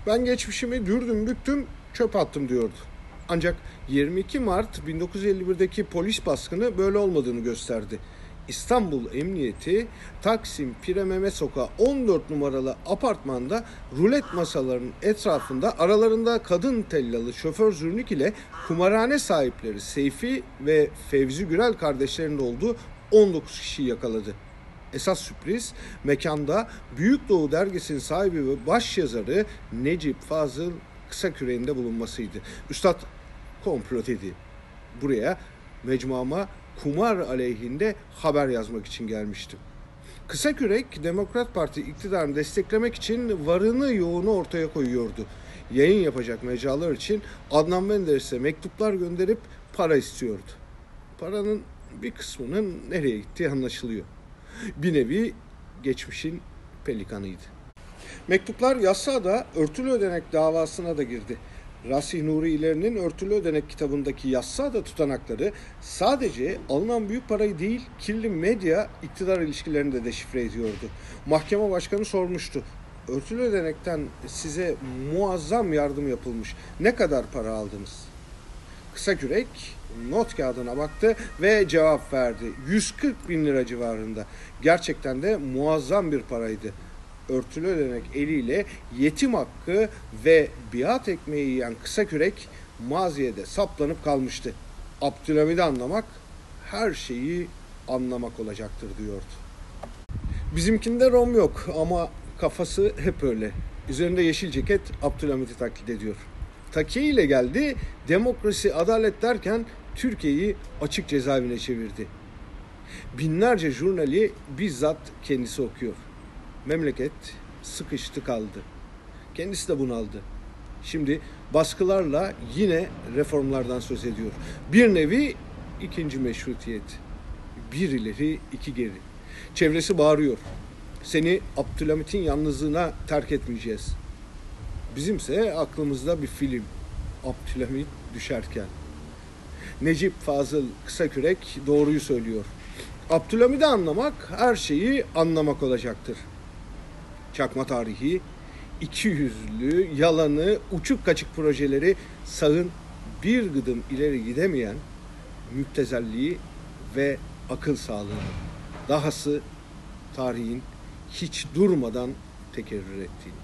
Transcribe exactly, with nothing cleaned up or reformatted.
Ben geçmişimi dürdüm büktüm çöp attım diyordu. Ancak yirmi iki Mart bin dokuz yüz elli birdeki polis baskını böyle olmadığını gösterdi. İstanbul Emniyeti Taksim Pire Mehmet Sokağı on dört numaralı apartmanda rulet masalarının etrafında aralarında kadın tellalı şoför Zürnük ile kumarhane sahipleri Seyfi ve Fevzi Gürel kardeşlerinin olduğu on dokuz kişiyi yakaladı. Esas sürpriz mekanda Büyük Doğu dergisinin sahibi ve başyazarı Necip Fazıl Kısakürek'in de bulunmasıydı. Üstad komplo dedi. Buraya mecmuama kumar aleyhinde haber yazmak için gelmiştim. Kısakürek Demokrat Parti iktidarını desteklemek için varını yoğunu ortaya koyuyordu. Yayın yapacak mecralar için Adnan Menderes'e mektuplar gönderip para istiyordu. Paranın bir kısmının nereye gittiği anlaşılıyor. Bir nevi geçmişin pelikanıydı. Mektuplar Yassıada örtülü ödenek davasına da girdi. Rasih Nuri İleri'nin Örtülü Ödenek kitabındaki Yassıada tutanakları sadece alınan büyük parayı değil, kirli medya iktidar ilişkilerini de deşifre ediyordu. Mahkeme başkanı sormuştu. Örtülü ödenekten size muazzam yardım yapılmış. Ne kadar para aldınız? Kısakürek not kağıdına baktı ve cevap verdi. yüz kırk bin lira civarında. Gerçekten de muazzam bir paraydı. Örtülü ödenek eliyle yetim hakkı ve biat ekmeği yiyen Kısakürek maziyede saplanıp kalmıştı. Abdülhamid'i anlamak her şeyi anlamak olacaktır diyordu. Bizimkinde rom yok ama kafası hep öyle. Üzerinde yeşil ceket Abdülhamid'i taklit ediyor. Takiye ile geldi, demokrasi, adalet derken Türkiye'yi açık cezaevine çevirdi. Binlerce jurnali bizzat kendisi okuyor. Memleket sıkıştı kaldı. Kendisi de bunaldı. Şimdi baskılarla yine reformlardan söz ediyor. Bir nevi ikinci meşrutiyet. Bir ileri iki geri. Çevresi bağırıyor. Seni Abdülhamit'in yalnızlığına terk etmeyeceğiz. Bizimse aklımızda bir film. Abdülhamit düşerken. Necip Fazıl Kısakürek doğruyu söylüyor. Abdülhamid'i anlamak her şeyi anlamak olacaktır. Çakma tarihi, iki yüzlü, yalanı, uçuk kaçık projeleri sağın bir gıdım ileri gidemeyen müptezelliği ve akıl sağlığını. Dahası tarihin hiç durmadan tekerrür ettiğini.